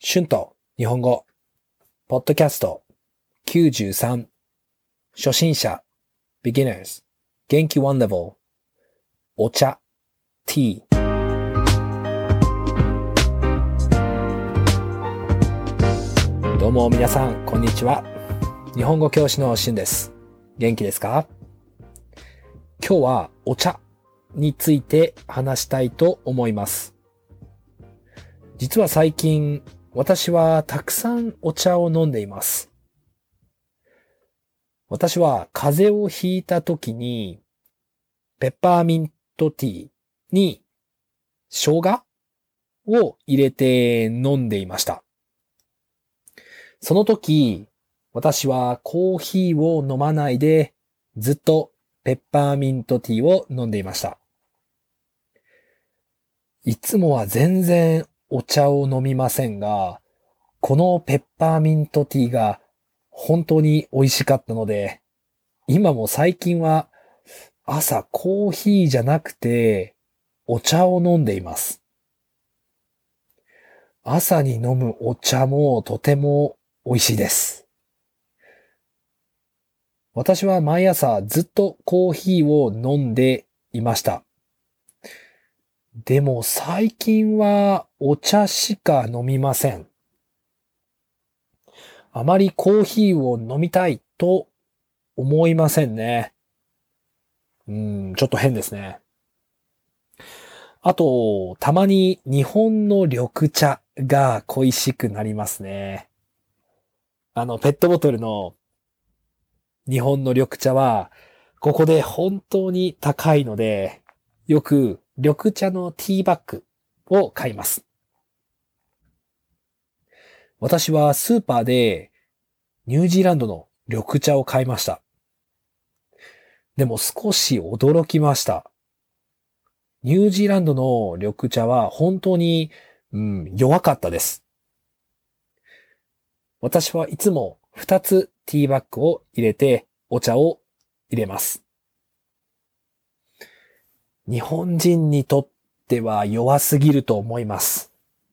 春と日本語、ポッドキャスト93、初心者、beginners、元気1 level、お茶、tea。どうも皆さん、こんにちは。日本語教師の春です。元気ですか？今日はお茶について話したいと思います。実は最近、私はたくさんお茶を飲んでいます。私は風邪をひいた時に、ペッパーミントティーに生姜を入れて飲んでいました。その時、私はコーヒーを飲まないで、ずっとペッパーミントティーを飲んでいました。いつもは全然お茶を飲みませんが、このペッパーミントティーが本当に美味しかったので、今も最近は朝コーヒーじゃなくてお茶を飲んでいます。朝に飲むお茶もとても美味しいです。私は毎朝ずっとコーヒーを飲んでいました。でも最近はお茶しか飲みません。あまりコーヒーを飲みたいと思いませんね。ちょっと変ですね。あと、たまに日本の緑茶が恋しくなりますね。ペットボトルの日本の緑茶は、ここで本当に高いので、よく緑茶のティーバッグを買います。私はスーパーでニュージーランドの緑茶を買いました。でも少し驚きました。ニュージーランドの緑茶は本当に、弱かったです。私はいつも2つティーバッグを入れてお茶を入れます。日本人にとっては弱すぎると思います。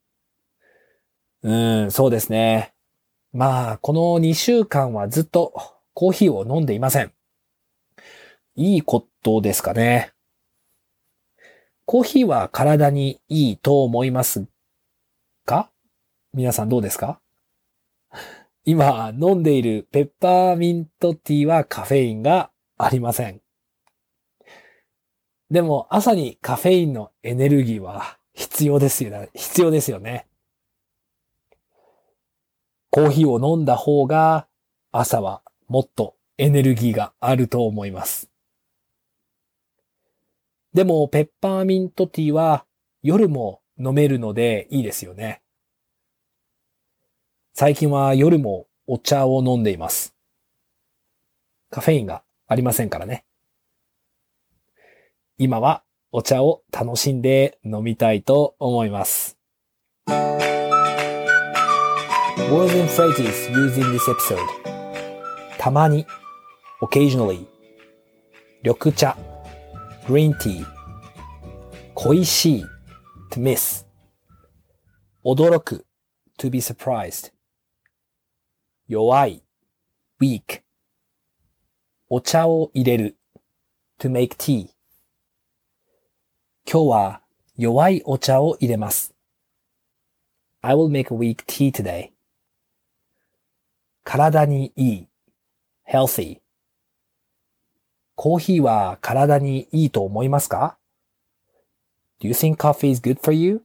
そうですね。この2週間はずっとコーヒーを飲んでいません。いいことですかね。コーヒーは体にいいと思いますか？皆さんどうですか？今飲んでいるペッパーミントティーはカフェインがありません。でも朝にカフェインのエネルギーは必要ですよね。コーヒーを飲んだ方が朝はもっとエネルギーがあると思います。でもペッパーミントティーは夜も飲めるのでいいですよね。最近は夜もお茶を飲んでいます。カフェインがありませんからね。今はお茶を楽しんで飲みたいと思います。Words and phrases used in this episode. たまに occasionally 緑茶 green tea 恋しい to miss 驚く to be surprised 弱い weak お茶を入れる to make tea 今日は弱いお茶を入れます。I will make a weak tea today. 体にいい healthy コーヒーは体にいいと思いますか？ Do you think coffee is good for you?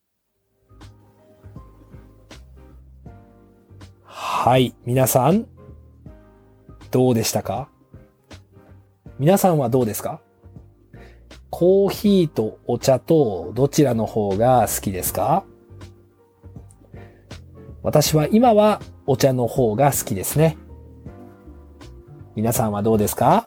はい、皆さんどうでしたか？皆さんはどうですか？コーヒーとお茶とどちらの方が好きですか？私は今はお茶の方が好きですね。皆さんはどうですか？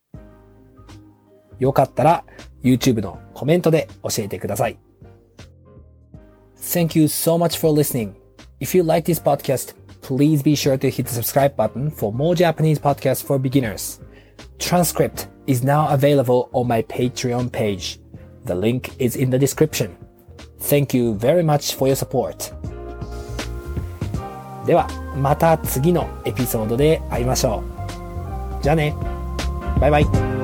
よかったら YouTube のコメントで教えてください。Thank you so much for listening. If you like this podcast, please be sure to hit the subscribe button for more Japanese podcasts for beginners. Transcript is now available on my Patreon page. The link is in the description. Thank you very much for your support. では、また次のエピソードで会いましょう。じゃあね。バイバイ。